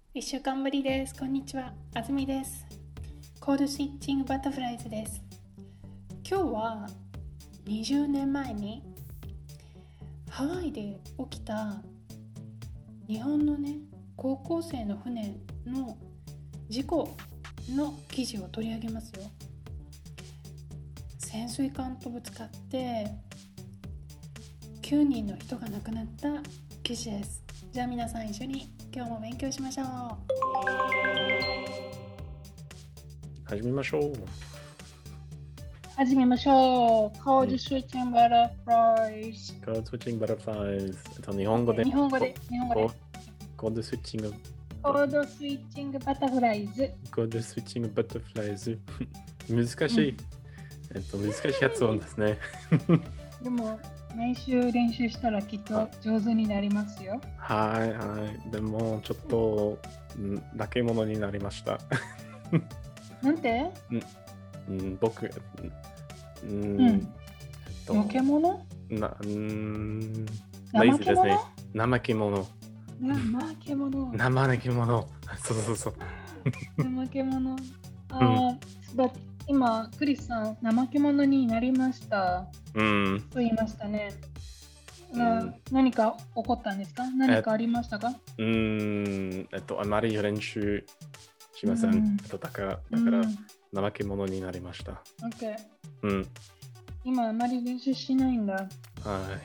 1週間ぶりです。こんにちは。あずみです。コードスイッチングバタフライズです。今日は20年前にハワイで起きた日本の高校生の船の事故の記事を取り上げますよ。潜水艦とぶつかって9人の人が亡くなった記事です。じゃあ皆さん一緒に今日も勉強しましょう。 始めましょう。 始めましょう。コードスイッチングバタフライズ。 コードスイッチングバタフライズ。日本語で。 日本語で。 コードスイッチング。 コードスイッチングバタフライズ。 コードスイッチングバタフライズ。難しい。難しい発音ですね。 でも、毎週練習したらきっと上手になりますよ。 はいはい。でも、ちょっと、化け物になりました。 なんて僕、 化け物怠け者怠け者。怠け者。そう。 怠け者。今、クリスさん、怠け者になりました。と言いましたね。何か起こったんですか？何かありましたか？ あまり練習しません。だから怠け者になりました。 OK。今あまり練習しないんだ。 はい。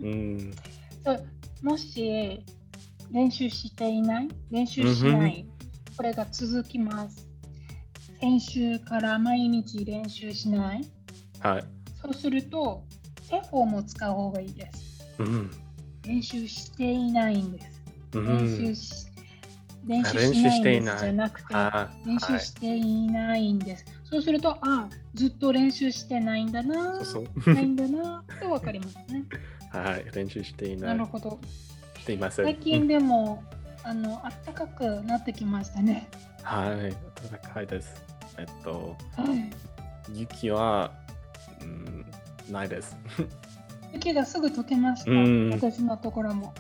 もし練習しない、これが続きます。先週から毎日練習しない。 はい。 そうすると、手フォームを使う方がいいです。練習していないんです。練習していないんですじゃなくて、練習していないんです。そうすると、ずっと練習してないんだな、ないんだなと分かりますね。 はい、練習していない。 なるほど。 していません。 最近でも、暖かくなってきましたね。 はい、暖かいです。雪は、ないです。 雪がすぐ溶けました。私のところも。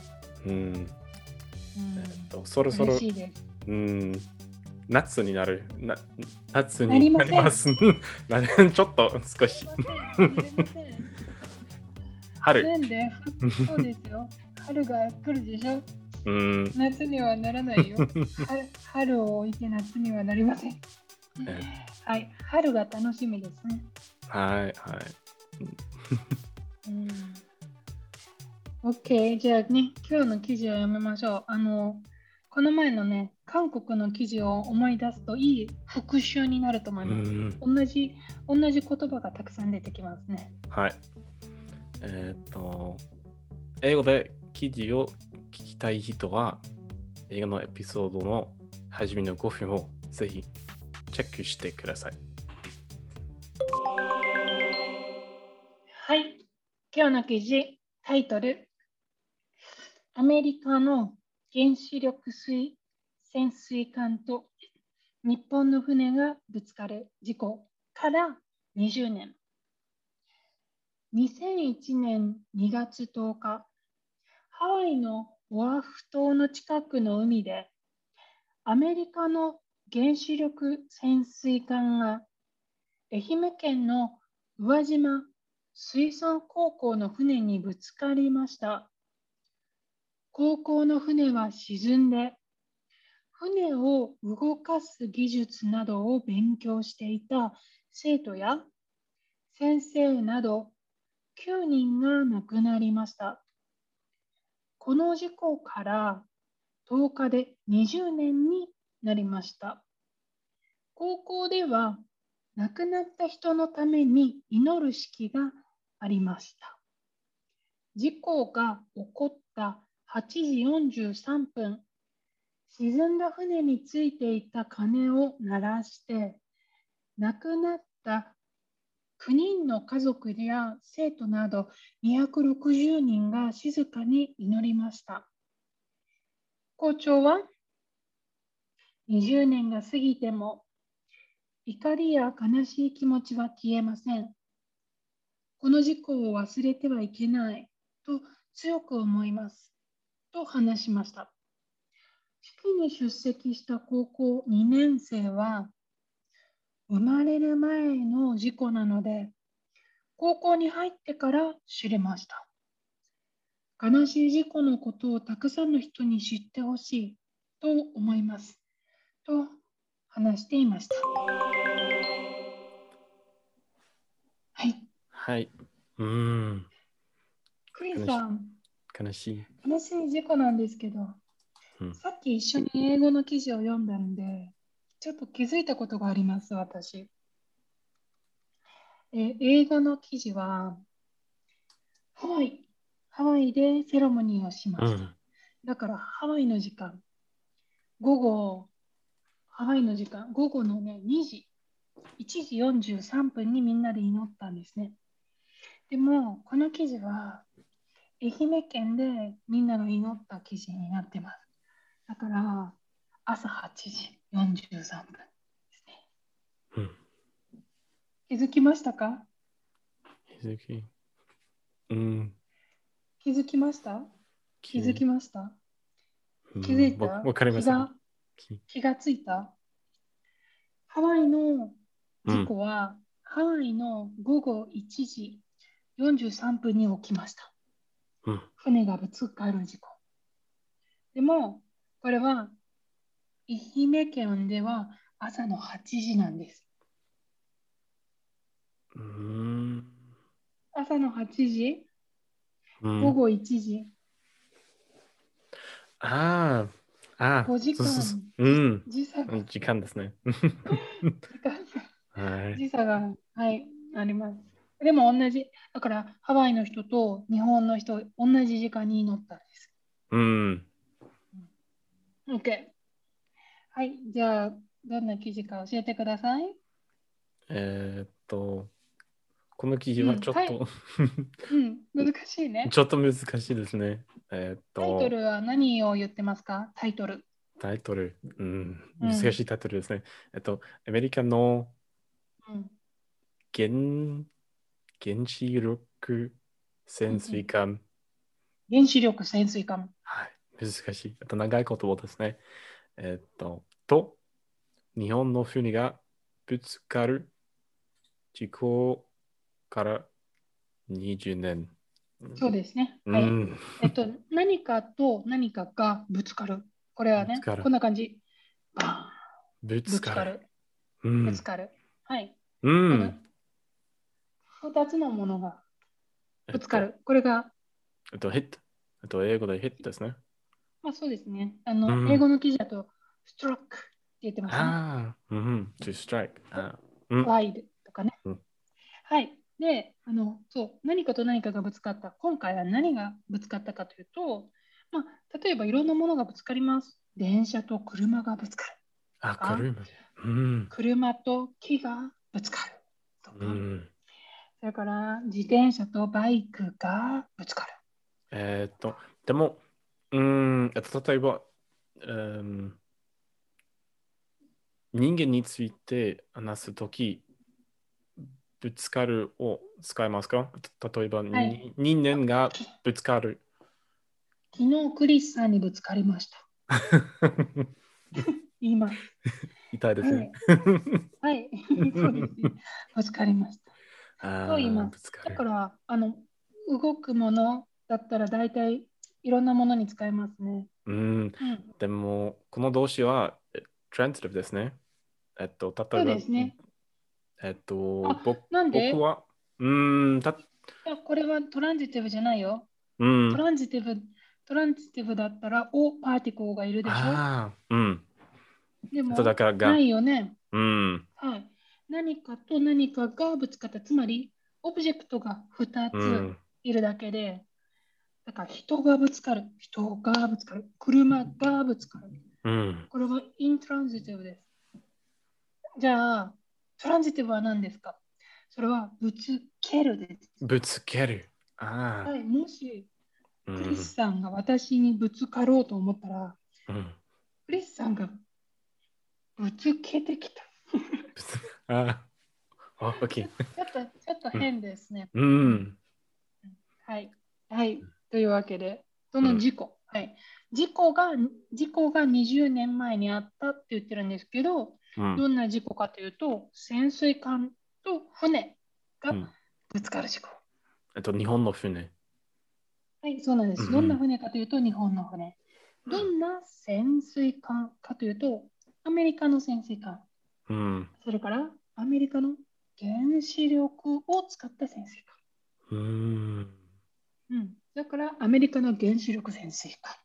そろそろ嬉しいです。 夏になる。夏になります。ちょっと少し。春。 そうですよ。春が来るでしょ。夏にはならないよ。春を置いて夏にはなりません。はい、春が楽しみですね。 はい。 OK、じゃあね、今日の記事を読みましょう。この前の韓国の記事を思い出すといい復習になると思います。同じ言葉がたくさん出てきますね。 はい。英語で記事を聞きたい人は、映画のエピソードの初めの5分をぜひチェックしてください。 はい。今日の記事、タイトル。アメリカの原子力潜水艦と日本の船がぶつかる事故から20年。2001年2月10日、ハワイのオアフ島の近くの海で、アメリカの原子力潜水艦が愛媛県の宇和島水産高校の船にぶつかりました。高校の船は沈んで、船を動かす技術などを勉強していた生徒や先生など9人が亡くなりました。この事故から10日で20年になりました。高校では亡くなった人のために祈る式がありました。事故が起こった8時43分、沈んだ船についていた鐘を鳴らして、亡くなった9人の家族や生徒など260人が静かに祈りました。校長は、20年が過ぎても怒りや悲しい気持ちは消えません。この事故を忘れてはいけないと強く思いますと話しました。 式に出席した高校2年生は、生まれる前の事故なので、高校に入ってから知れました。悲しい事故のことをたくさんの人に知ってほしいと思います。と話していました。はい。 はい。 クリスさん、 悲しい。 悲しい事故なんですけど、さっき一緒に英語の記事を読んだんで、ちょっと気づいたことがあります、私。映画の記事は、ハワイでセレモニーをしました。だからハワイの時間、ハワイの時間、午後のね、1時43分にみんなで祈ったんですね。でも、この記事は、愛媛県でみんなの祈った記事になってます。だから、朝8時43分ですね。気づきましたか？気づきました気づきました気づいたわかりません。 気がついたハワイの事故は、ハワイの午後1時43分に起きました。船がぶつかる事故。でも、これは愛媛県では朝の8時なんです。朝の8時、午後1時。5時間。 時間ですね。 時差が、はい、あります。でも同じ、だからハワイの人と日本の人、同じ時間に乗ったんです。OK。はい、じゃあ、どんな記事か教えてください。 この記事はちょっと、 難しいね。 ちょっと難しいですね。 タイトルは何を言ってますか？タイトル。 難しいタイトルですね。アメリカの原子力潜水艦。 原子力潜水艦。 はい、難しい。長い言葉ですね。と、日本の船がぶつかる事故から20年。 そうですね。はい。何かと何かがぶつかる。これはね、こんな感じ。 ぶつかる。 ぶつかる。はい。2つのものがぶつかる。これが。 ヒット。英語でヒットですね。 まあそうですね。英語の記事だと、ストラックって言ってましたね。 to strike。 フライドとかね。はい。で、何かと何かがぶつかった。今回は何がぶつかったかというと、例えばいろんなものがぶつかります。電車と車がぶつかる。車と木がぶつかる。とか、それから自転車とバイクがぶつかる。 でも、例えば、人間について話すとき、ぶつかるを使いますか？例えば、人間がぶつかる。 昨日クリスさんにぶつかりました。言います。 痛いですね。 はい、そうですね。ぶつかりました。と言います。だから、動くものだったら大体いろんなものに使えますね。 でも、この動詞はトランジティブですね。例えば、 そうですね。なんで僕は、 これはトランジティブじゃないよ。トランジティブだったら、パーティコーがいるでしょ。でも、ないよね。はい。何かと何かがぶつかった。つまり、オブジェクトが2ついるだけで、だから人がぶつかる。車がぶつかる。これはイントランジティブです。じゃあ、トランジティブは何ですか？それはぶつけるです。 ぶつける。 はい、もし、クリスさんが私にぶつかろうと思ったら、クリスさんがぶつけてきた。 OK。 ちょっと変ですね。はい。はい。というわけで、その事故。はい。 事故が20年前にあったって言ってるんですけど、どんな事故かというと、潜水艦と船がぶつかる事故。 日本の船。 はい、そうなんです。どんな船かというと、日本の船。どんな潜水艦かというと、アメリカの潜水艦。それから、アメリカの原子力を使った潜水艦。だから、アメリカの原子力潜水艦。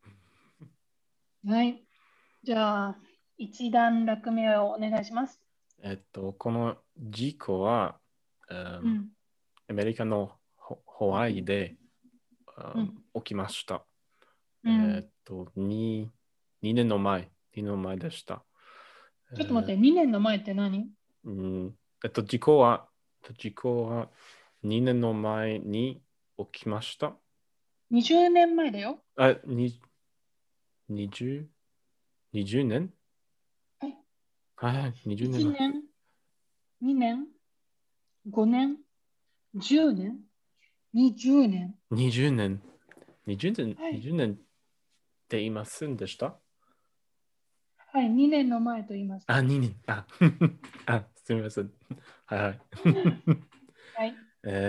はい。じゃあ、一段落目をお願いします。 この事故は、アメリカのハワイで、起きました。2年の前でした。 ちょっと待って、2年の前って何？ 事故は2年の前に起きました。 20年前だよ。 20年はい、20年前。1年、2年、5年、10年、20年。 20年。20年って言いませんでした？ はい、2年の前と言いました。 2年。すみません。はいはい。 はい。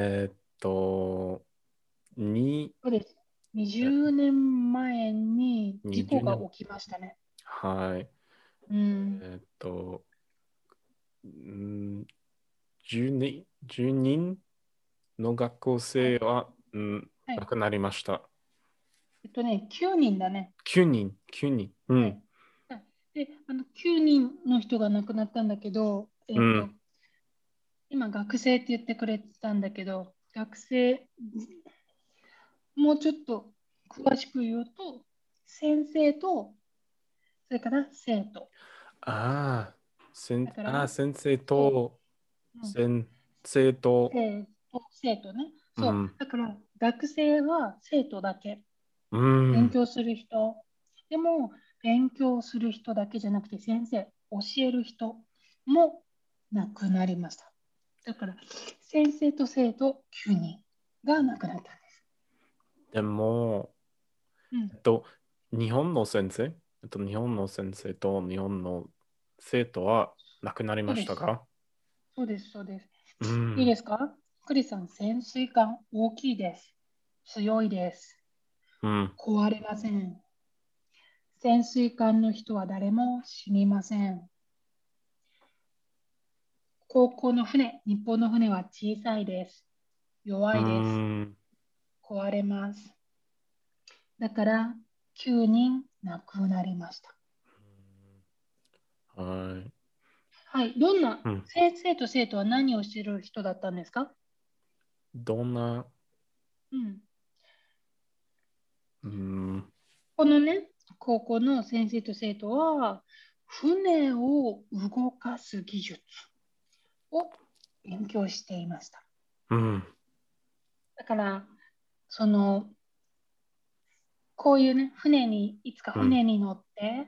そうです。20年前に事故が起きましたね。 はい。10人の学校生は、亡くなりました。 9人だね。 9人。 はい。で、9人の人が亡くなったんだけど、今学生って言ってくれてたんだけど、学生、もうちょっと詳しく言うと、先生と、それから生徒。 先生と、生徒ね。そう。だから、学生は生徒だけ。勉強する人。でも、勉強する人だけじゃなくて、先生、教える人も亡くなりました。だから、先生と生徒9人が亡くなったんです。 でも、日本の先生と日本の生徒は亡くなりましたか？ そうです。いいですか？クリさん、潜水艦大きいです。強いです。壊れません。潜水艦の人は誰も死にません。高校の船、日本の船は小さいです。弱いです。壊れます。だから9人亡くなりました。はい。どんな、先生と生徒は何をしている人だったんですか？ どんな、 このね、高校の先生と生徒は、船を動かす技術を勉強していました。だから、こういうね、いつか船に乗って、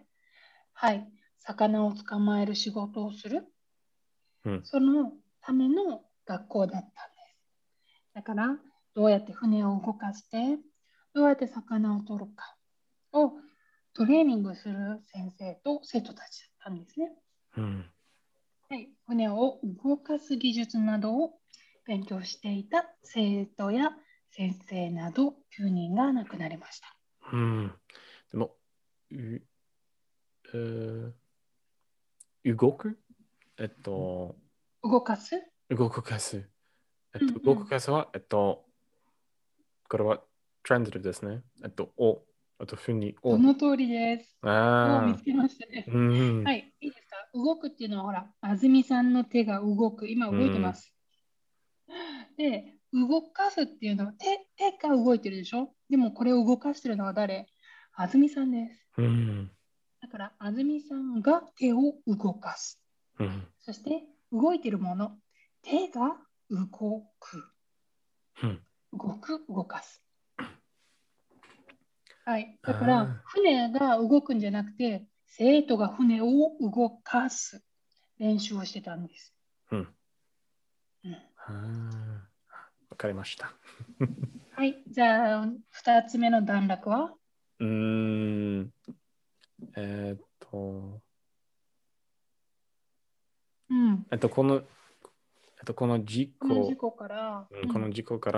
はい、魚を捕まえる仕事をする、そのための学校だったんです。だから、どうやって船を動かして、どうやって魚を取るかをトレーニングする先生と生徒たちだったんですね。はい、船を動かす技術などを勉強していた生徒や先生など9人が亡くなりました。 でも、動く動かす動かす。動かすは、これはトランジティブですね。ふにその通りです。見つけましたね。はい、いいですか？動くっていうのは、ほら、安住さんの手が動く。今動いてます。で、動かすっていうのは手が動いてるでしょ？でもこれを動かしてるのは誰？安住さんです。だから安住さんが手を動かす。そして動いてるもの、手が動く。動かす。はい。だから船が動くんじゃなくて、生徒が船を動かす練習をしてたんです。 わかりました。 はい。じゃあ、2つ目の段落はうーん。えーっと、 うん。 この、この事この事故、 故から、 この事故から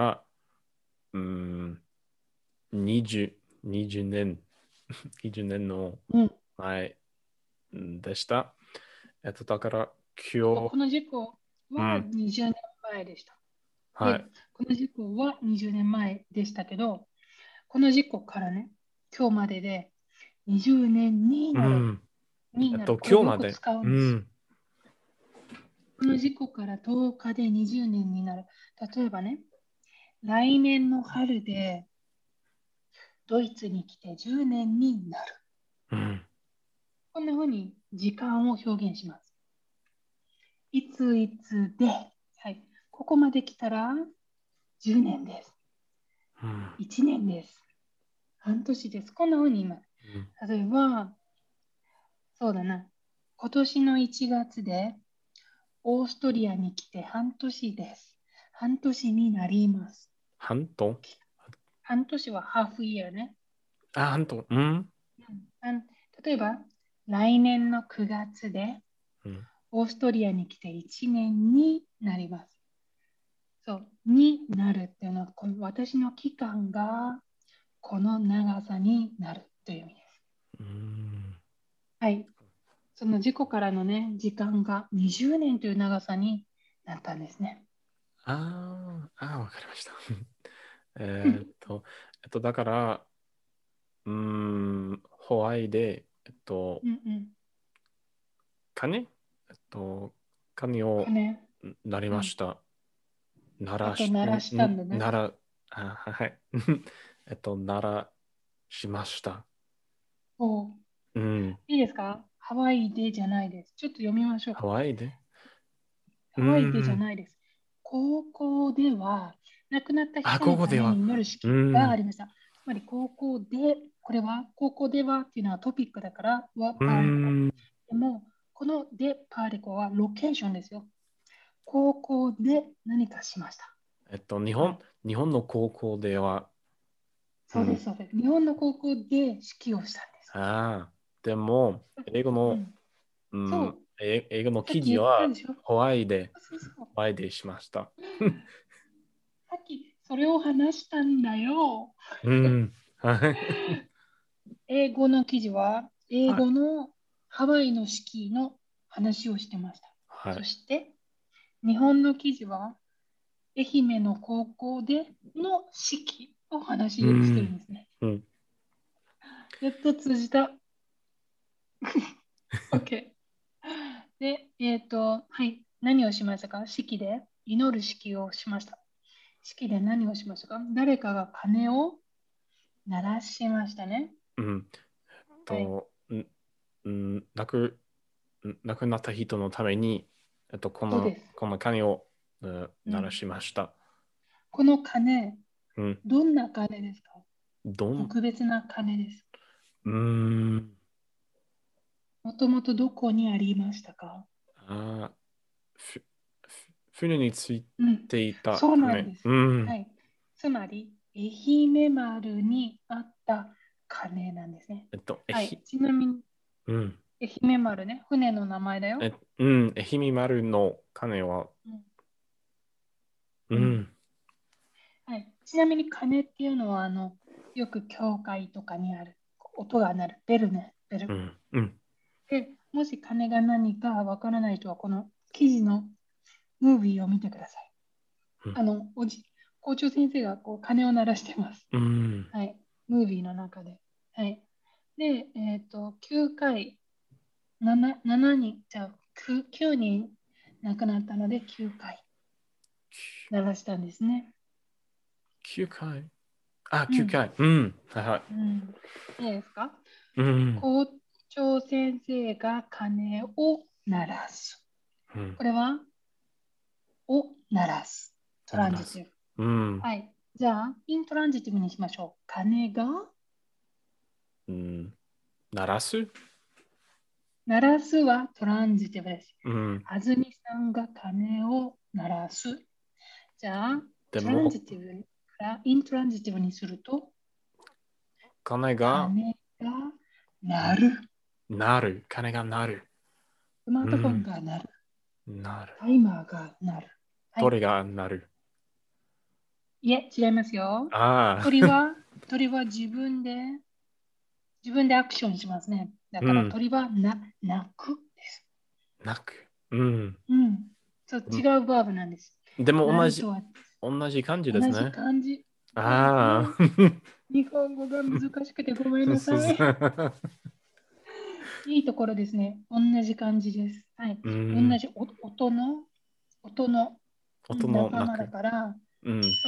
、20、20年、20年のうん。 前でした。だから今日、 この事故はうん、 20年前でした。で、 はい。 この事故は20年前でしたけど、この事故からね、今日までで20年になる。 うん。 になる。これよく今日まで。 使うんですよ。 うん。 この事故から10日で20年になる。例えばね、来年の春でドイツに来て10年になる。 うん。 こんな風に時間を表現します。いついつで、はい、ここまで来たら10年です。 うん。 1年です。半年です。こんな風に言います。例えば、そうだな。今年の1月でオーストリアに来て半年です。半年になります。 半島半年はハーフイヤーね。 半島。うん。 例えば、来年の9月でうん。 オーストリアに来て1年になります。そう、になるっていうのは、この私の期間がこの長さになるという意味です。 うん。 はい。その事故からのね、時間が20年という長さになったんですね。 わかりました。えーっと、だから、ホワイで、 うんうん。 鐘鐘を鐘。 鳴りうん。 ました。鳴らし、 鳴らしたんだね。 鳴ら、はい。鳴らしました。 おうん。 いいですか？ハワイでじゃないです。ちょっと読みましょう。 ハワイでうハワイでじゃん。 ないです。高校では亡くなった人のここでは、 鐘に祈るう式があん。 りました。つまり高校で、これは高校ではっていうのはトピックだからはうパーリコ。 ん。 でも、このでパーリコはロケーションですよ。高校で何かしました。はい。 日本の高校では、うん。 そうです、そうです。日本の高校で式をしたんです。 でも、英語の、 うん。そう。 英語の記さっき言った事は、 でしょ。 ホワイで、 そうそう。 ホワイでしました。 さっきそれを話したんだよ。 うん。はい。 英語の記事は、英はい。 語のハワイの式の話をしてました。 はい。 そして、日本の記事は、愛媛の高校での式を話をしてるうん。 んですね。 うん。 やっと通じた。OK。で、はい。何をしましたか？式で祈る式をしました。式で何をしましたか？誰かが鐘を鳴らしましたね。 うん。 はい。 と、ん、亡くなった人のために、 そうです。 この鐘を、鳴らうん。 しました。 この鐘、 うん。 どんな鐘ですか？ どん、 特別な鐘です。 うーん。 もともとどこにありましたか？ あー、ふ、船についうん、 ていたそうなん鐘。 です。 うん。 はい。つまり、愛媛丸にあった鐘なんですね。はい。ちなみに、 うん。 愛媛丸ね、船の名前だよ。 愛媛丸の鐘は、 うん。うん、 うん。 はい。ちなみに鐘っていうのは、よく教会とかにある音が鳴るベルね、ベル。 うん。うん。 で、もし鐘が何かわからない人は、この記事のムービーを見てください。 うん。 あの、校長先生がこう鐘を鳴らしてます。 うん。 はい。ムービーの中で。はい。で、9回、7人、じゃあ9人亡くなったので9回鳴らしたんですね。 9回9 うん。 回。うん。はいはい。 うん。いいですか？ うん。 校長先生が鐘を鳴らす。 うん。 これは、を鳴らす。トラ鳴らす。 ンジティブ。 うん。 はい。じゃあ、イントランジティブにしましょう。鐘がうん。鳴らす鳴らすはトランジティブです。 うん。 あずみさんが鐘を鳴らす。じゃあ、トランでも、 ジティブからイントランジティブにすると、 金が金が鳴る。 なる。金がなる。 スマートフォンが鳴る。 なる。 タイマーが鳴る。はい、 鳥がなる。 いえ、違いますよ。 ああ。 鳥は自分でアクションしますね。だからうん。 鳥は鳴くです。 なく。うん。 うん。そう、違うバーブなんです。 でも鳴るとは同じ感じで同じすね。 感じ。そうですあね。 あ。 日本語が難しくてごめんなそうそさい。 う。 いいところですね。同じ感じです。はい。 う同ん。 じ音の音の仲間だなく。 から、 うん。 そう、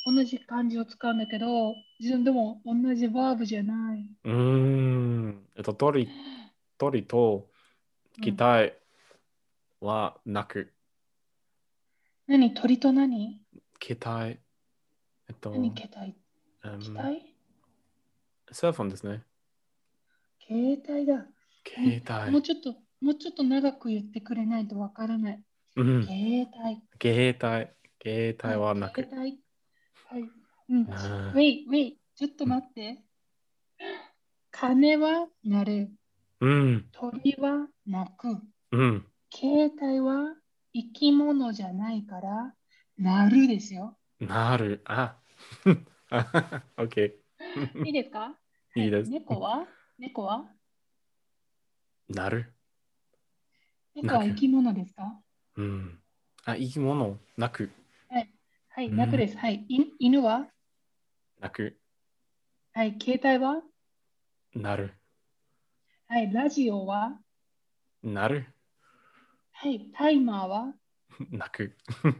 同じ漢字を使うんだけど、自分でも同じバーブじゃない。 うーん。鳥とうん。 機体はなく。 何鳥と何機体、えっ何と、 携帯うん、 機体セルフォンですね。 携帯だ。 携帯。 もうちょっと長く言ってくれないとわからない。 うん。 携帯。 携帯。携帯はい、 はなく。 携帯。はい。うん。 うん。 wait。ちょっと待って。鐘は鳴る。 うん。 鳥は鳴く。 うん。 携帯は生き物じゃないから鳴るですよ。 なる。あ。OK。 いいですか？はい。 いいです。 猫はなる。 猫なく。 は生き物ですか？ うん。あ、生き物。なく。 はい。はい、 うん。 鳴くです。はい。犬はなく。 はい。携帯はなる。 はい。ラジオはなる。 はい。タイマーはなく。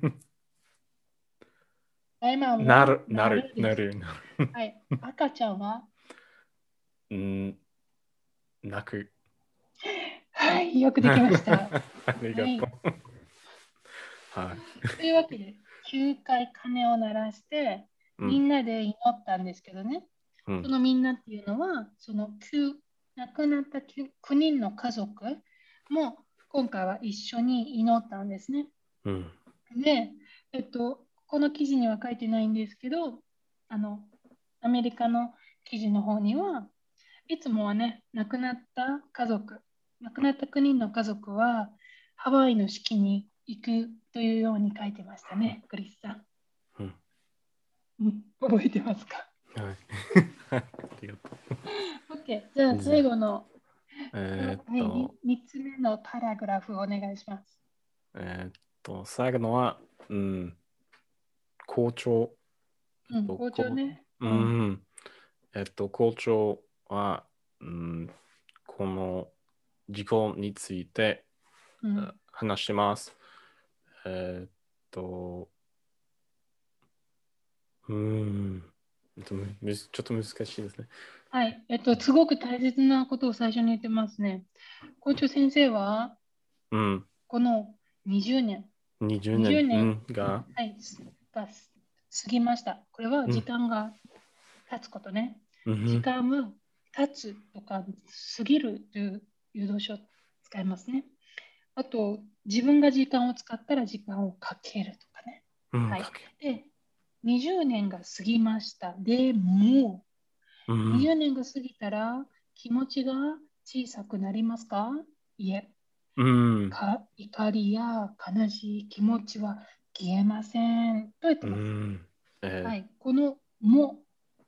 タイマーなる。なは鳴る。 るです。 なる。なる。 はい。赤ちゃんはうん。なく。 はい。よくできました。はありがとい。 う。はい。 というわけで、9回鐘を鳴らして、 うん。 みんなで祈ったんですけどね。 うん。 そのみんなっていうのは、その亡くなった9人の家族も今回は一緒に祈ったんですね。 うん。 で、この記事には書いてないんですけど、あの、アメリカの記事の方には、いつもはね、亡くなった9人の家族は、ハワイの式に行くというように書いてましたね、クリスさん。 うん。 覚えてますか？ はい。ありがと OK。じゃあう。じゃあ、 最後の、はい、3つ目のパラグラフをお願いします。 最後のは、うん、校長。 うん、校長ね。 ううん。 ん、校長は、うん、この事故についてうん。 話します。えーっと、うん、ちょっと難しいですね。 はい。すごく大切なことを最初に言ってますね。校長先生は、 うん、 この20年、 20 20 年、う年、 ん、が、 はい、が過ぎました。これは時うん、 間が経つことね。時うん、 間を経つとか過ぎるという誘導書を使いますね。あと、自分が時間を使ったら時間をかけるとかね。 うん、 はい。 かけ。 で、20年が過ぎました。でも、 うん、 20年が過ぎたら気持ちが小さくなりますか？いえ、 うん、 怒りや悲しい気持ちは消えませんと言ってうます。 ん、 はい、このも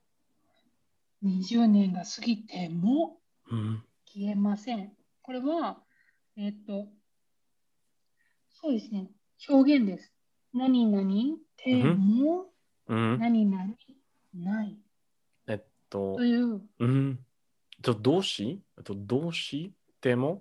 20年が過ぎてもうん、 消えません。これは、えっと、そうですね、表現です。何々てうん、 もうん、 何々ないえっと、 という、 うん、動詞でも、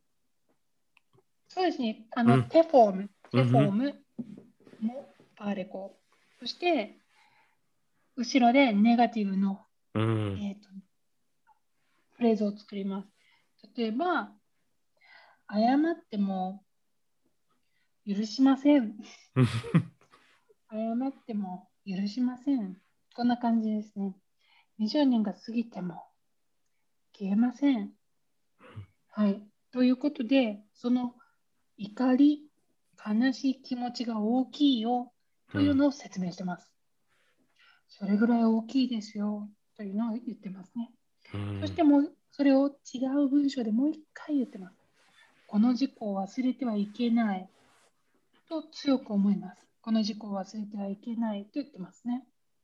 そうですね、 うん、 テフォーム、 うん、 もパーレコ。そして、後ろでネガティブの、 うん、 えーと、フレーズを作ります。例えば、謝っても許しません。 うん、 謝っても許しません。こんな感じですね。20年が過ぎても消えません。はい。ということで、その怒り、悲しい気持ちが大きいよというのを説明してます。それぐらい大きいですよというのを言ってますね。 うんそしてもうそれを違う文章でもう一回言ってます。この事故を忘れてはいけないと強く思います。この事故を忘れてはいけないと言ってますね。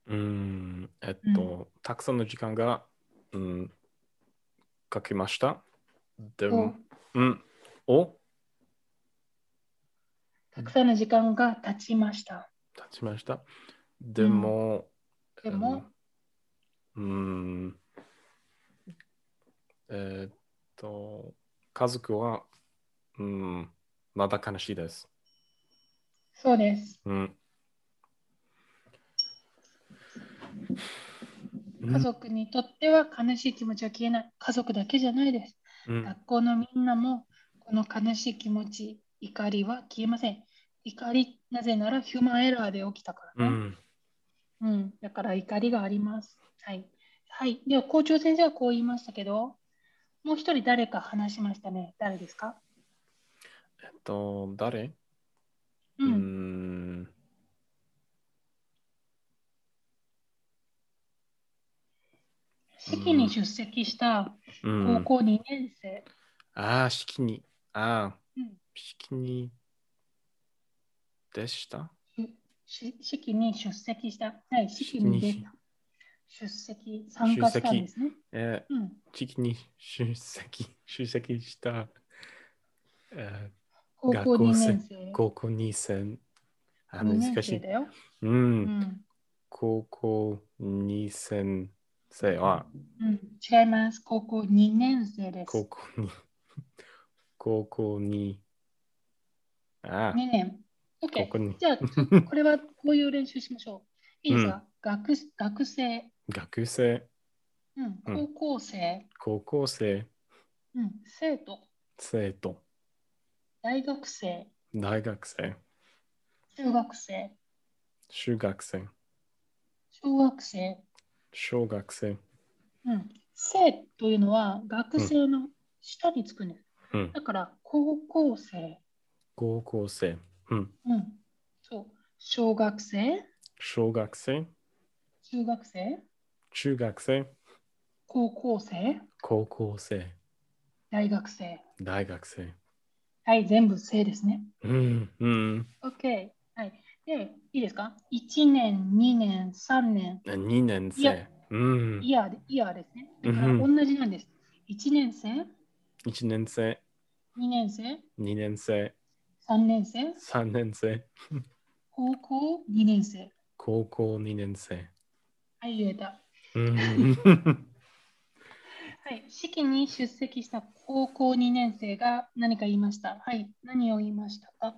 たくさんの時間が、かけました。でおも、おたくさんの時間が経ちました。 立ちました。でも、 でも、 うんえーっと、家族は、まだ悲しいです。 そうです。 うん家族にとっては悲しい気持ちは消えない。家族だけじゃないです。学校のみんなもこの悲しい気持ち、怒りは消えません。怒り、なぜならヒューマンエラーで起きたからね。だから怒りがあります。はい。はい。では、校長先生はこう言いましたけど、もう一人誰か話しましたね。誰ですか？ 誰うん。式に出席した高校2年生。 式に。式にでした式に出席した。はい、式に出た。参加したんですね。 式に出席した、 高校2年生。 高校2年 2年難しい。 生だよ。 高校2年生は、 違います。高校2年生です。 高校に、 2年。OK。 ここに。 じゃあ、これはこういう練習しましょう。いいですか？学生。 学生。 高校生。 高校生。 生徒。 生徒。 大学生。 大学生。 中学生。 中学生。 小学生。 小学生。 生というのは学生の下につくんです。だから高校生。 高校生。 そう。小学生。 小学生。 中学生。 中学生。 高校生。 高校生。 大学生。 大学生。 はい、全部生ですね。 OK。 はい。で、いいですか？ 1 年、2年、3年。 2年生。 イヤーですね。だから同じなんです。1年生、 1年生。 2年生、 2年生。 3年生、 3年生。 高校2年生。 高校2年生。 はい、言えた。はい、式に出席した高校2年生が何か言いました。はい、何を言いましたか？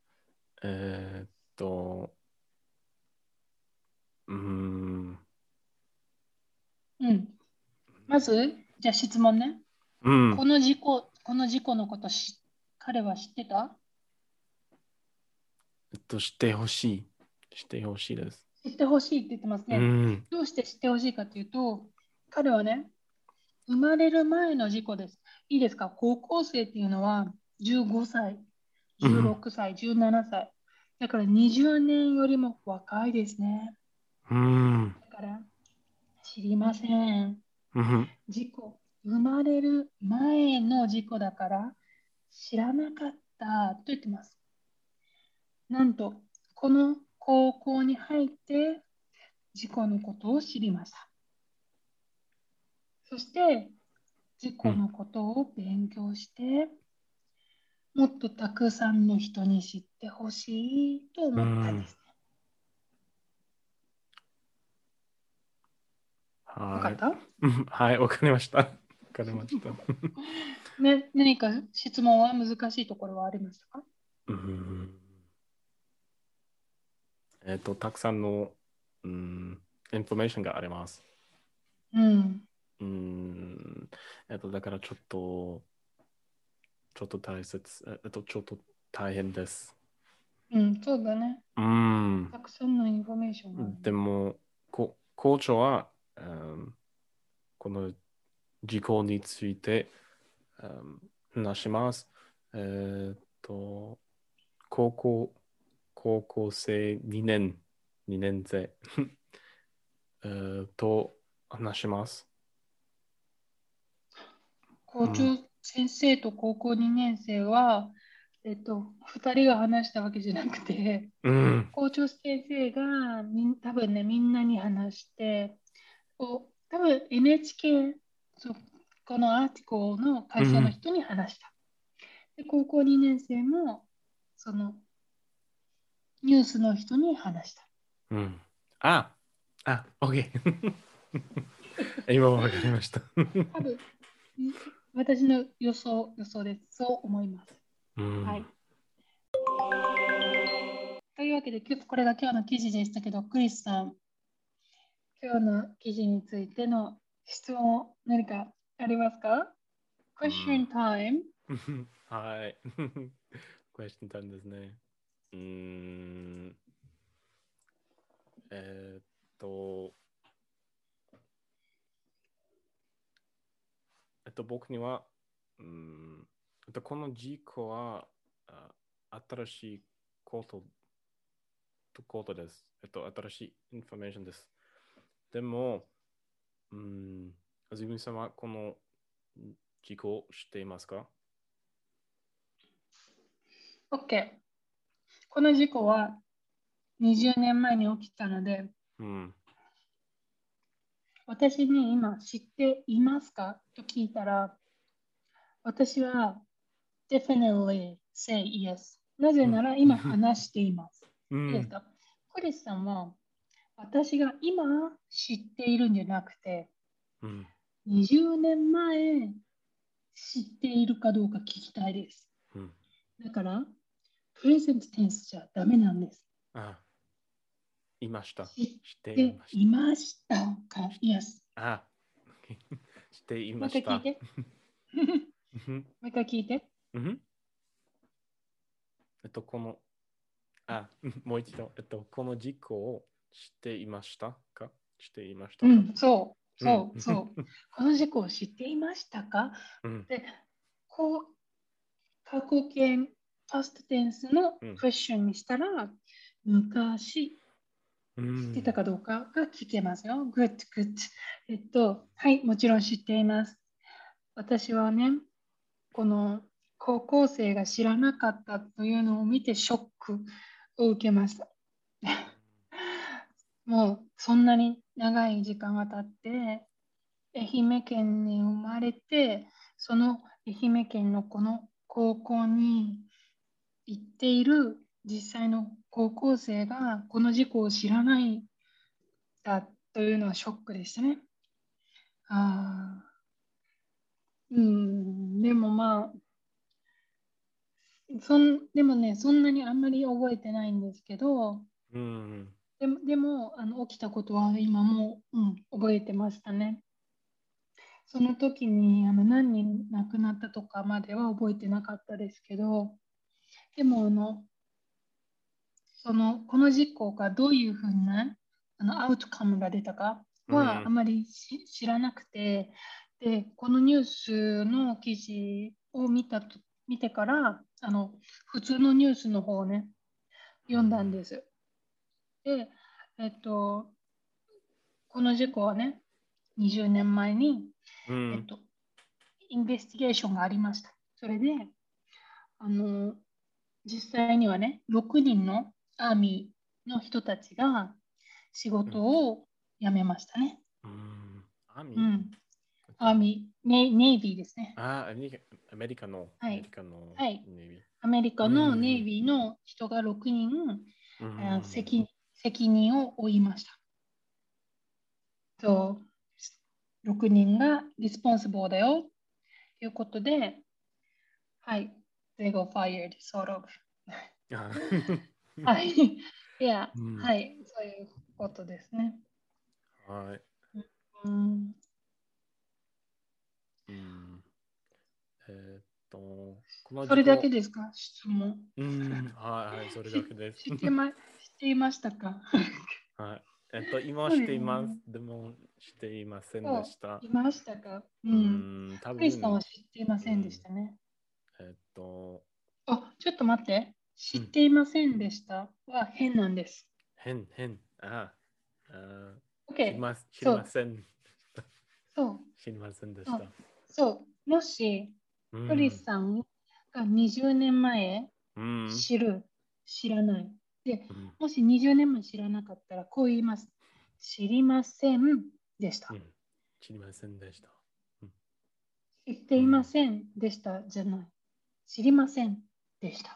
まず、じゃあ質問ね。この事故のこと彼は知ってた？ 知ってほしい。知ってほしいです。 知ってほしいって言ってますね。どうして知ってほしいかというと、彼はね、生まれる前の事故です。いいですか？高校生っていうのは15歳、16歳、17歳。だから20年よりも若いですね。だから知りません。事故、生まれる前の事故だから知らなかったと言ってます。なんと、この高校に入って事故のことを知りました。そして、事故のことを勉強して、もっとたくさんの人に知ってほしいと思ったんですね。わかった？ はい、わかりました。わかりました。 ね、何か質問は難しいところはありましたか？ たくさんの、インフォメーションがあります。だからちょっと大切、ちょっと大変です。 そうだね。たくさんのインフォメーションがある、ね。 でも、校長は、この事項について、話します。高校生2年生と話します。 校長先生と高校2年生は、2人が話したわけじゃなくて、 うん。 校長先生が多分ね、みんなに話して、多分 NHK、そう、このアーティコの会社のうん。 人に話した。で、高校2年生も、そのニュースの人に話した。 うん。OK。今わかりました。 多分、私の予想です。そう思います。 うん。 はい。というわけで、これが今日の記事でしたけど、クリスさん、今日の記事についての質問、何かありますか？ うん。 Question time。 はい。クエスチョンタイムですね。うーん。えーっと、僕には、この事故は、新しいことです。新しいインフォメーションです。でも、あずみさんはこの事故を知っていますか？ OK。この事故は20年前に起きたので、 うん。 私に今知っていますかと聞いたら、私は definitely say yes。なぜうん。 なら今話しています。 うん。 いいですか？クリスさんは私が今知っているんじゃなくて、 うん。 20年前知っているかどうか聞きたいです。 うん。 だから、プレゼントテンスじゃダメなんです。 あ、いました。 知っ知っていてました。 いましたか？ Yes。 あ、知っていもうました。 一回聞いて。 うん。 もう一回聞いて。 うん。この、もう一度、この事故を知っていましたか？知っていましたか？ うん、そう、 うん。 そう、そう。この事故を知っていましたか？ うん。 で、こう、過去形、パストテンスのうん。 クエスチョンにしたら、昔う知ってたん。 かどうかが聞けますよ。Good, good。はい、もちろん知っています。私はね、この高校生が知らなかったというのを見てショックを受けました。もうそんなに長い時間が経って、愛媛県に生まれて、その愛媛県のこの高校に行っている実際の高校生がこの事故を知らないだというのはショックでしたね。あでもまあ、でもね、そんなにあんまり覚えてないんですけど、 うん。 でも起きたことは今も、覚えてましたね。その時に何人亡くなったとかまでは覚えてなかったですけど、でもこの事故がどういうふうなアウトカムが出たかはあうん。 まり知らなくて、で、このニュースの記事を見てから、普通のニュースの方をね、読んだんです。で、えっと、この事故はね、20年前に、 うん。 えっと、インベスティゲーションがありました。それで、あの、実際にはね、6人のアーミーの人たちが仕事を辞めましたね。 うん。アミうん。アーミー、ネイビーですね。 アメリカの、 はい。はい。 ネイビー。 アメリカうのネイん。 ビーの人が6人、 うん。 責任を負いました。そう、6人がリスポンシブルだよということで、はい。They go fired, sort of. あはい。いや、 うん。 はい。そういうことですね。 はい。 うん、 うん。えーっと、このそれだけ事故、 ですか？質問。 はい、それだけです。 知っていましたか？ はい。今はそうしています。 ですね。 でも、していませんでそう、 した。 いましたか？うん。 多クリスさんは分、 知っていませんでしうん、 たね。 えーっと、 あ、ちょっと待って。知っうん、 ていませんでしたは変なんです。 変。あ、 OK。 知りそう。 ません。 そう、 知りませんでしそう、 た。 そう。もし、クリうん。 スさんが20年前うん。 知らない。で、 うん。 もし20年前知らなかったら、こう言います。知りませんでした。 うん。知りませんでした。うん。 知っていまうん。 せんでしたじゃない。知りませんでした。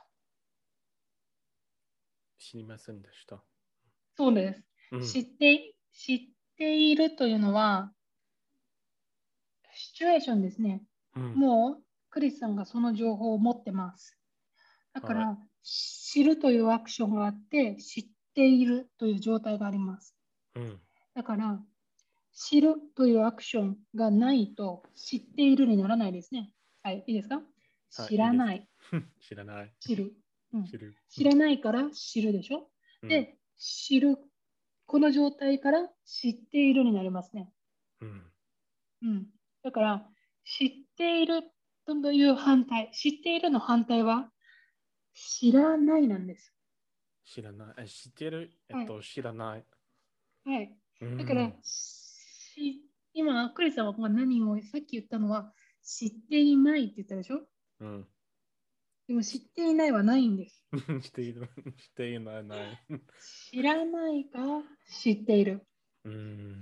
知りませんでした。 そうです。 うん。 知っているというのは、シチュエーションですね。 うん。 もう、クリスさんがその情報を持ってます。だかはい。 ら、知るというアクションがあって、知っているという状態があります。 うん。 だから、知るというアクションがないと、知っているにならないですね。はい、いいですか？ はい、いいです。 知らない、 知らない。 知る。うん、 知る。 知らないから知るでしょ？ うん。 で、知る。この状態から知っているになりますね。 うん。 うん。だから、知っているという反対、知っているの反対は、知らないなんです。 知らない。知ってるはい。 知らない。 はい。 うだから、 ん。 今、クリスさんは何をさっき言ったのは、知っていないって言ったでしょ？ うん。 でも、知っていないはないんです。 している。していない。ない。 知らないか知っている。 うん。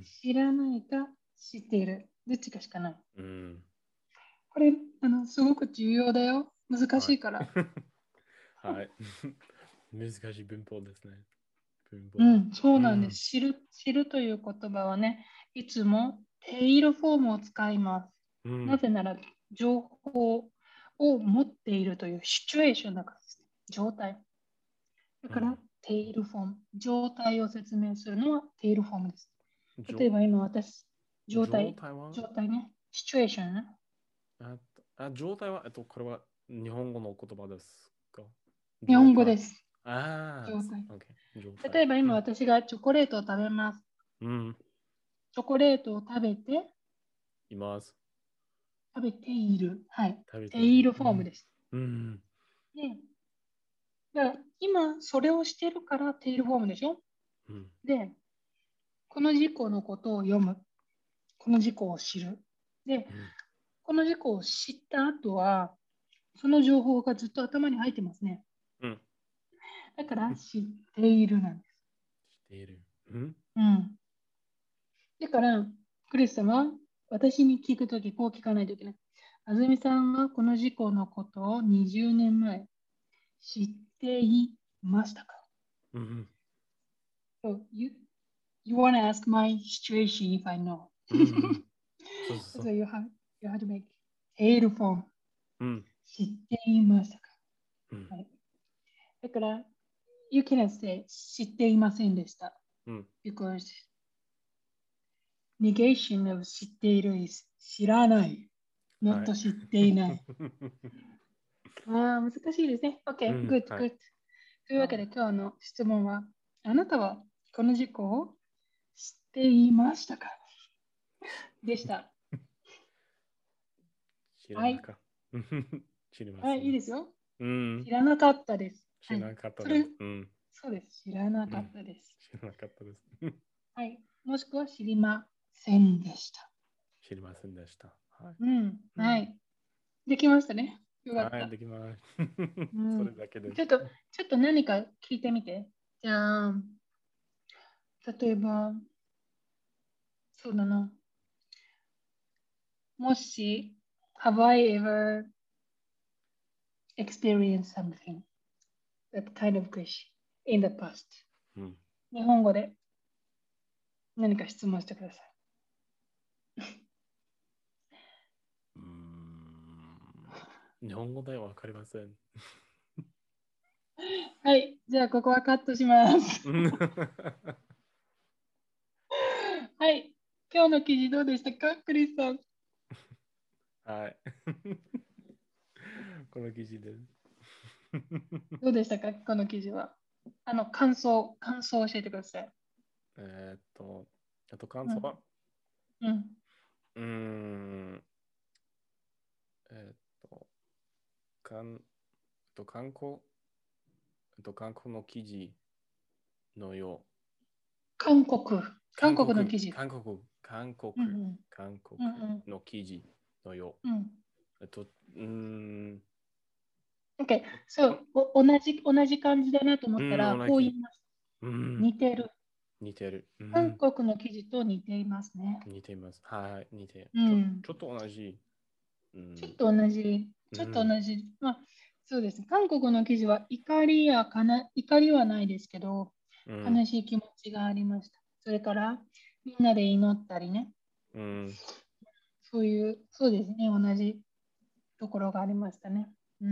知らないか知っている。どっちかしかない。 うん。 これ、すごく重要だよ。難しはい。 いから。 はい。難しい文法ですね。文法。 うん、そうなんです。 うん。 知るという言葉はね、いつもテイルフォームを使います。 うん。 なぜなら、情報を持っているというシチュエーションだからです。状態。だから、 うん。 テイルフォーム。状態を説明するのはテイルフォームです。例え状ば今私、状態、 状態は状態ね、シチュエーションね。 状態は、これは日本語の言葉ですか？ 日状態。 本語です。 あ状態。 あ、OK。状態。 例えばうん。 今私がチョコレートを食べます。 うん。 チョコレートを食べて、 います。 食べている。はい。 食べている。 テイルフうん。 ォームです。 うん。 で、だから今それをしてるからテイルフォームでしょ？ うん。 で、この事項のことを読む。この事項を知る。で、 うん。 この事項を知った後は、その情報がずっと頭に入ってますね。 うん。 だから知っているなんです。 している。うん。 うん。だから、クリスさんは私に聞くとき、こう聞かないといけない。あずみさんはこの事項のことを20年前知っていましたか？ うん。 So you want to ask my situation if I know. うん。そうそうそ So う。 you have to make tail form. うん。 知っていましたか？ うん。 はい。だから、you cannot say 知っていませんでした。 うん。 because negation of 知っている is 知らない。 は not い。 知っていない。ああ、難しいですね。 う OK, ん。 good, はい。 good. というわけで今日の質問は、あなたはこの事項を知っていましたかでした。 知らはい。 なかった。知りまはい、いいせん。 ですよ。 うん。 知らなかったです。はい。 知らなかったそれ、 です。うん。 そうです。知らなうん。 かったです。 知らなかったです。 はい。もしくは知りませんでした。 知りませんでした。はい。 うん。 うん。 はい。できましたね。よかっはい、 た。 できます。 うそん。 れだけです。 ちょっと何か聞いてみて。じゃあ、例えば、そうだな。もし、Have I ever experienced something that kind of question in the past? うん。 日本語で何か質問してくださうーん日本語ではわかりません。 い。はい。じゃあ、ここはカットします。はい。今日の記事どうでしたか、クリスさん。 はい。この記事です。 どうでしたか、この記事は。感想を教えてください。 えーっと、感うん。 想は、 うん。 うーん、えーっと、かん、観光、観光の記事のよう。 韓国。韓韓国、 国の記事。 韓国、 韓国、 うんうん韓国うんの記事のようん。 う。 OK、そう、同じ感じだなと思ったら、こう言います。似てる。 似てる。 韓国の記事と似ていますね。 似ています。はい、似てる。ちょっと同じ。 ちょっと同じ。まあ、そうですね。韓国の記事は怒りはないですけど、悲しい気持ちがありました。それから、みんなで祈ったりね。そうですね。同じところがありましたね。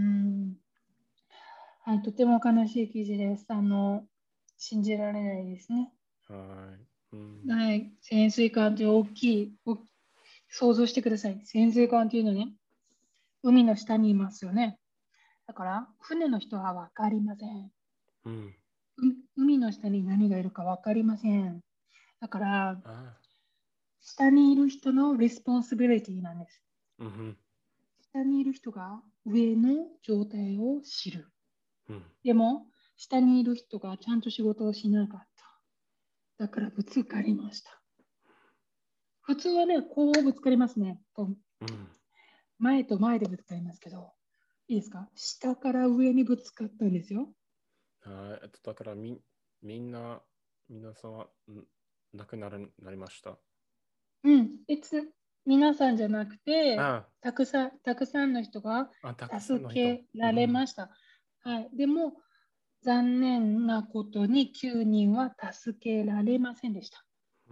はい、とても悲しい記事です。信じられないですね。はい、潜水艦って大きい、想像してください。潜水艦っていうのね、海の下にいますよね。だから、船の人は分かりません。海の下に何がいるか分かりません。だから、下にいる人のレスポンシビリティなんです。下にいる人が上の状態を知る。でも、下にいる人がちゃんと仕事をしなかった。だからぶつかりました。普通はね、こうぶつかりますね。前と前でぶつかりますけど、いいですか？下から上にぶつかったんですよ。 だから皆さんは亡くなりました。 皆さんじゃなくて、たくさんの人が助けられました。はい、でも、残念なことに9人は助けられませんでした。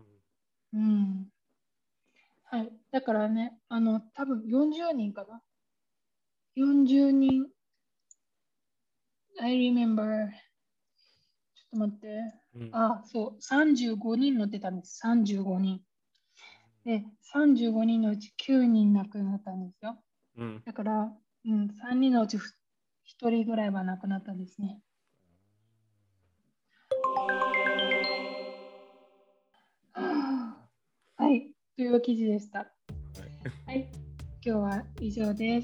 はい、だからね、多分40人かな。40人。I remember。ちょっと待って。そう、35人乗ってたんです。35人。で、35人のうち9人亡くなったんですよ。だから、3人のうち1人ぐらいは亡くなったんですね。はい、という記事でした。はい、今日は以上です。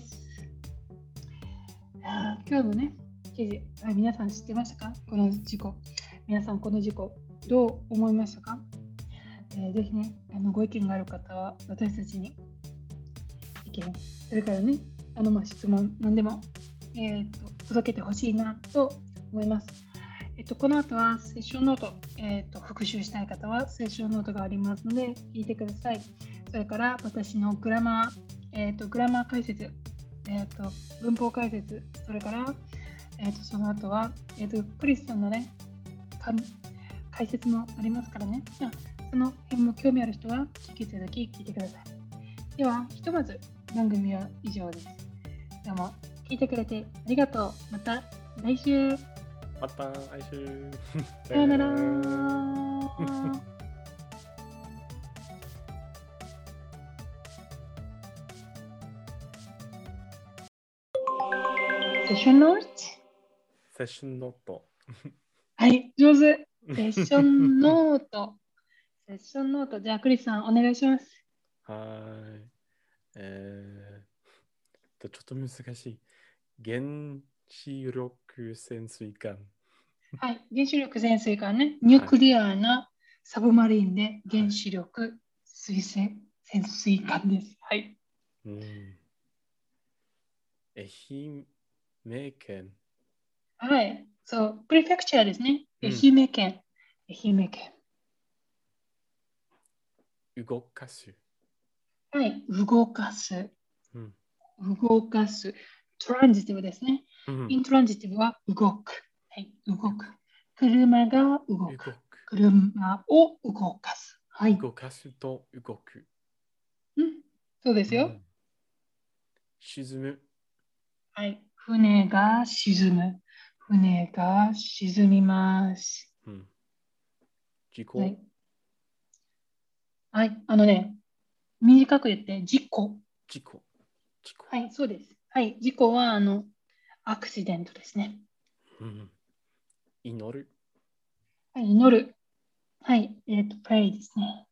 今日のね、記事、皆さん知ってましたか？この事故。皆さん、この事故、どう思いましたか？ぜひね、ご意見がある方は私たちに意見、それからね、質問、何でも、届けてほしいなと思います。この後はセッションノート、復習したい方はセッションノートがありますので、聞いてください。それから私のグラマー解説、文法解説、それから、その後は、クリスさんのね、解説もありますからね。その辺も興味ある人は引き続き聞いてください。では、ひとまず番組は以上です。どうも聞いてくれてありがとう。また来週。 また来週。 さよなら。セッションノート。 セッションノート。 はい、上手。セッションノート。セッションノート。じゃあ、クリスさん、お願いします。 はい。ちょっと難しい。原子力潜水艦。 はい、原子力潜水艦ね。ニュークリアなサブマリンで原子力潜水艦です。はい。 愛媛県。 はい。そう、プレフェクチャーですね。愛媛県。愛媛県。 動かす。 はい。動かす。動かす。トランジティブですね。イントランジティブは動く。はい。動く。車が動く。車を動かす。はい。 動かすと動く。 そうですよ。 沈む。 はい。船が沈む。船が沈みます。 事故。 はい。短く言って、事故。はい、そうです。はい。事故は、アクシデントですね。 祈る。 はい、祈る。はい。pray ですね。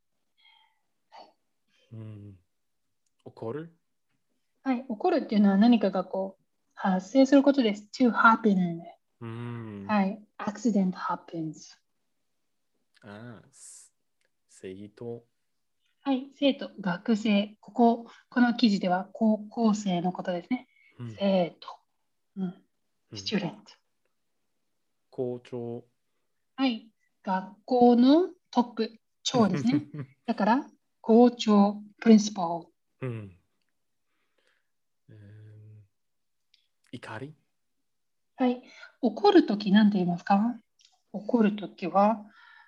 怒る。 はい。起こるっていうのは何かが発生することです。to happen。はい。accident happens。 正義と。 はい、生徒、学生。この記事では高校生のことですね。 うん。 生徒。うん。 うん。 スチューデント。 校長。 はい。学校のトップ、長ですね。だから、校長、プリンシパル。 うん。えー怒り。 はい。怒るときなんて言いますか？怒るときは、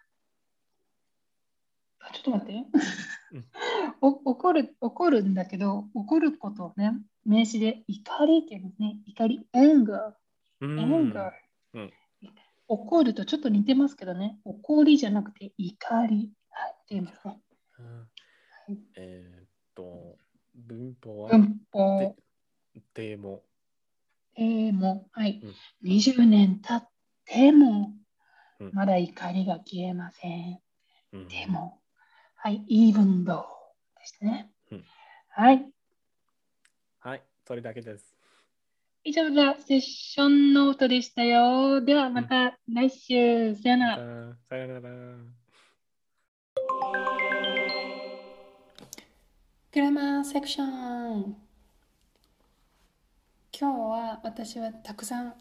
ちょっと待って。 うん。 怒るんだけど、怒ることをね、名詞で怒りって言うんですね。怒り、anger。 う anger。 ん。うん。 怒るとちょっと似てますけどね。怒りじゃなくて怒り。はい。って言いますね。 あはい、 文法は、 文で、 法、 でも。 も、はい。 うん。 20年経っても、 うん。 まだ怒りが消えません。 うん。 でも、はい。even though ですね。 うん。 はい。 はい。それだけです。 以上がセッションノートでしたよ。ではうん。 また来週。さよなまた、 ら。 さよなら。 グラマーセクション。今日は私はたくさん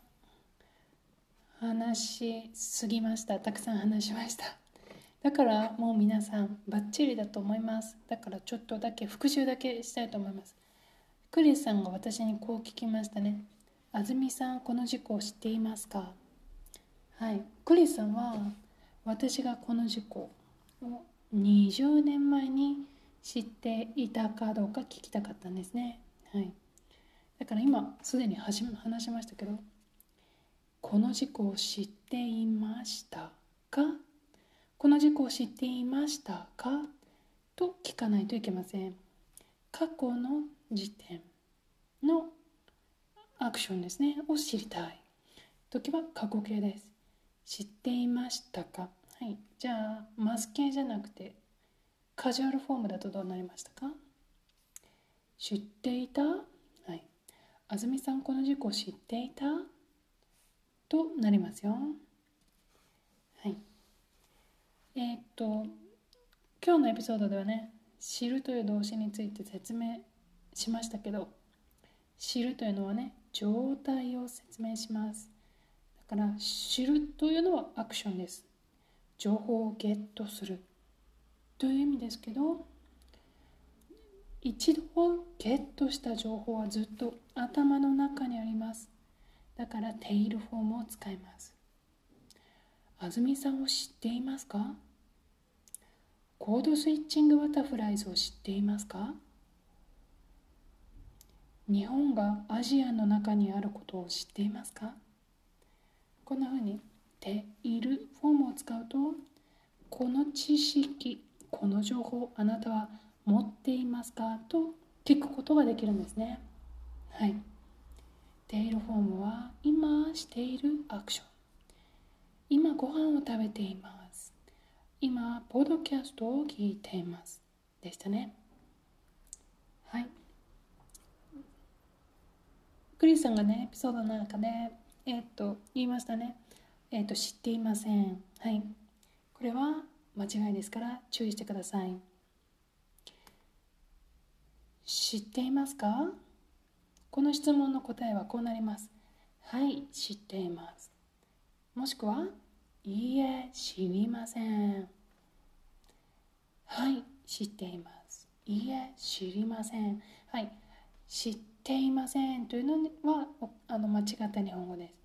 話しすぎました。たくさん話しました。だからもう皆さんバッチリだと思います。だからちょっとだけ復習だけしたいと思います。クリスさんが私にこう聞きましたね。あずみさん、この事故を知っていますか？はい。クリスさんは私がこの事故を20年前に知っていたかどうか聞きたかったんですね。はい。だから今すでに話しましたけど、この事故を知っていましたか？この事故を知っていましたかと聞かないといけません。過去の時点のアクションですねを知りたい時は過去形です。知っていましたか？はい。じゃあマス形じゃなくてカジュアルフォームだとどうなりましたか？知っていた？はい。あずみさん、この事故知っていたとなりますよ。はい。今日のエピソードではね、知るという動詞について説明しましたけど、知るというのはね、状態を説明します。だから知るというのはアクションです。情報をゲットするという意味ですけど、一度ゲットした情報はずっと頭の中にあります。だからテイルフォームを使います。あずみさんを知っていますか？コードスイッチングバタフライズを知っていますか？日本がアジアの中にあることを知っていますか？こんな風にテイルフォームを使うと、この知識、この情報、あなたは持っていますかと聞くことができるんですね。はい。テイルフォームは今しているアクション。今ご飯を食べています。今ポッドキャストを聞いています。でしたね。はい。クリスさんがね、エピソードの中で、言いましたね。知っていません。はい。これは間違いですから注意してください。知っていますか？この質問の答えはこうなります。はい、知っています。もしくは、いいえ、知りません。はい、知っています。いいえ、知りません。はい、知っていませんというのは間違った日本語です。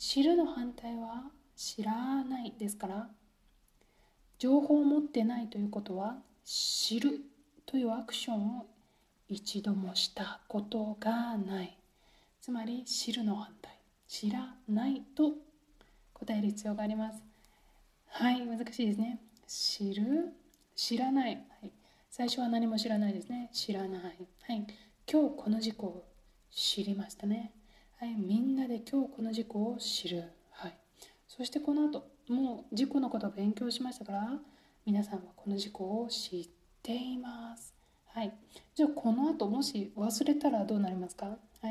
知るの反対は知らないですから、情報を持ってないということは、知るというアクションを一度もしたことがない。つまり知るの反対、知らないと答える必要があります。はい、難しいですね。知る、知らない、はい、最初は何も知らないですね。知らない、はい、今日この事故を知りましたね。はい、みんなで今日この事故を知る、はい、そしてこの後もう事故のことを勉強しましたから、皆さんはこの事故を知っています。はい、じゃあこの後もし忘れたらどうなりますか？はい、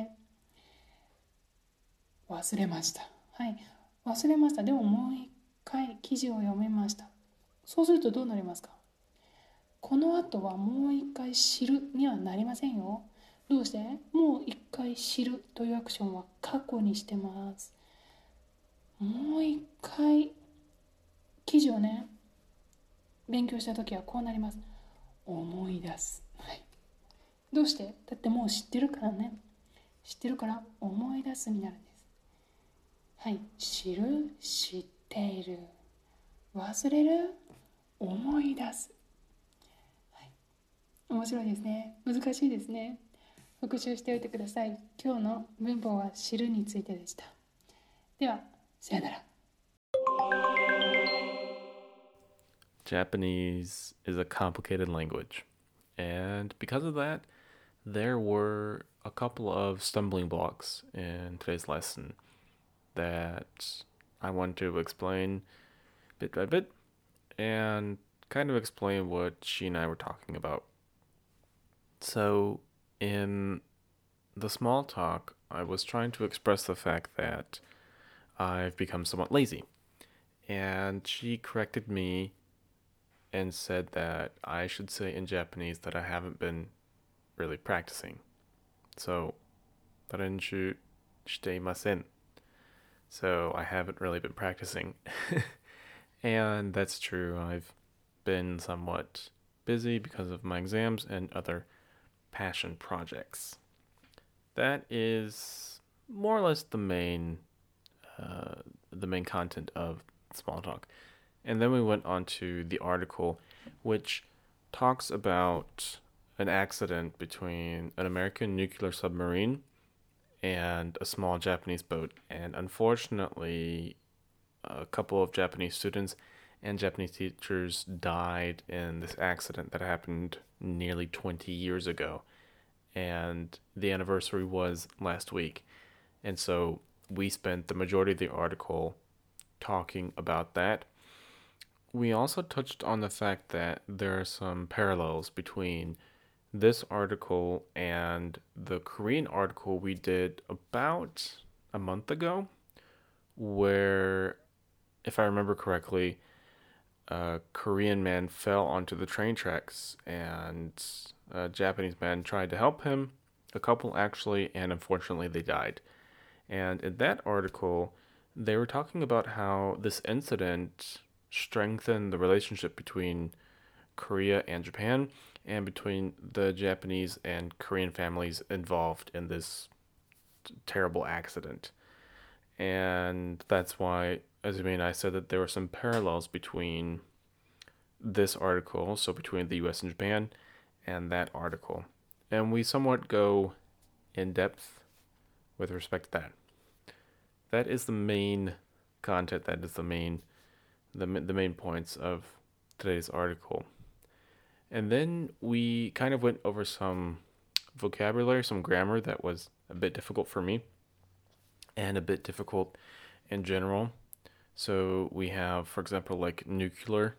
忘れました。はい、忘れました。でももう一回記事を読みました。そうするとどうなりますか？ この後はもう一回知るにはなりませんよ。どうして？もう一回知るというアクションは過去にしてます。もう一回記事をね、勉強した時はこうなります。思い出す。はい。どうして？だってもう知ってるからね。知ってるから思い出すになるんです。はい。知る、知っている。忘れる、思い出す。はい。面白いですね。難しいですね。復習しておいてください。今日の文法は知るについてでした。では、さよなら。 Japanese is a complicated language. And because of that, there were a couple of stumbling blocks in today's lesson that I want to explain bit by bit and kind of explain what she and I were talking about. So, in the small talk, I was trying to express the fact that I've become somewhat lazy. And she corrected me and said that I should say in Japanese that I haven't been really practicing. So, 練習していません. So, I haven't really been practicing. And that's true. I've been somewhat busy because of my exams and other passion projects. That is more or less the main content of Small Talk. And then we went on to the article, which talks about an accident between an American nuclear submarine and a small Japanese boat. And unfortunately, a couple of Japanese students and Japanese teachers died in this accident that happened nearly 20 years ago. And the anniversary was last week. And so we spent the majority of the article talking about that. We also touched on the fact that there are some parallels between this article and the Korean article we did about a month ago, where, if I remember correctly, a Korean man fell onto the train tracks and a Japanese man tried to help him, a couple actually, and unfortunately they died. And in that article, they were talking about how this incident strengthened the relationship between Korea and Japan and between the Japanese and Korean families involved in this terrible accident. And that's why, as Azumi and I said, that there were some parallels between this article, so between the US and Japan, and that article. And we somewhat go in depth with respect to that. That is the main content, that is the main points of today's article. And then we kind of went over some vocabulary, some grammar that was a bit difficult for me and a bit difficult in general. So we have, for example, like nuclear.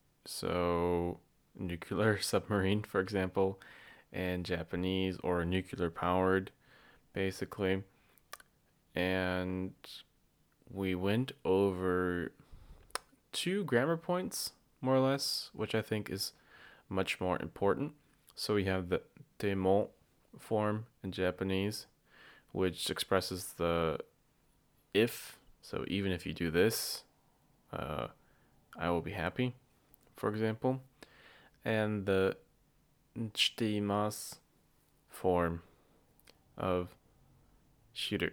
So nuclear submarine, for example, in Japanese, or nuclear powered, basically. And we went over 2 grammar points, more or less, which I think is much more important. So we have the temo form in Japanese, which expresses the if. So even if you do this, I will be happy, for example. And the shiteimasu form of shiru.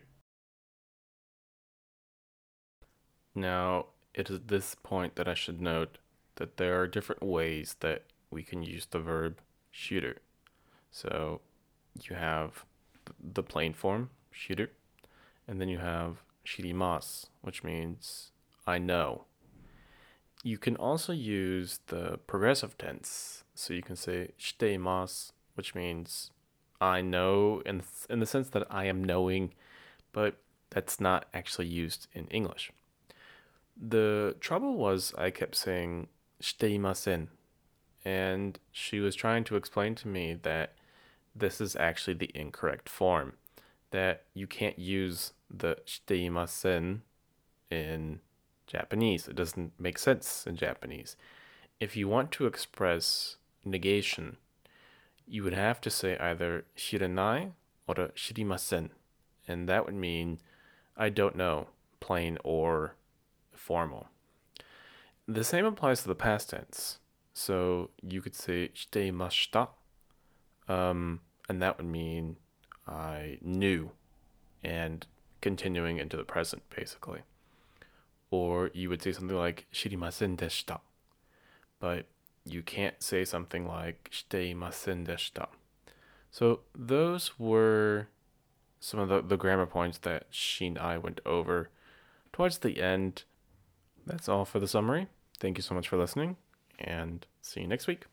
Now, it is this point that I should note that there are different ways that we can use the verb shiru. So you have the plain form, shiru, and then you have shirimasu, which means I know. You can also use the progressive tense. So you can say shiteimasu, which means I know in the sense that I am knowing, but that's not actually used in English. The trouble was I kept saying shiteimasen, and she was trying to explain to me that this is actually the incorrect form, that you can't use the shiteimasen in Japanese. It doesn't make sense in Japanese. If you want to express negation, you would have to say either 知らない or 知りません. And that would mean I don't know, plain or formal. The same applies to the past tense. So you could say していました, and that would mean I knew, and continuing into the present, basically. Or you would say something like 知りませんでした, but you can't say something like していませんでした. So those were some of the grammar points that she and I went over towards the end. That's all for the summary. Thank you so much for listening, and see you next week.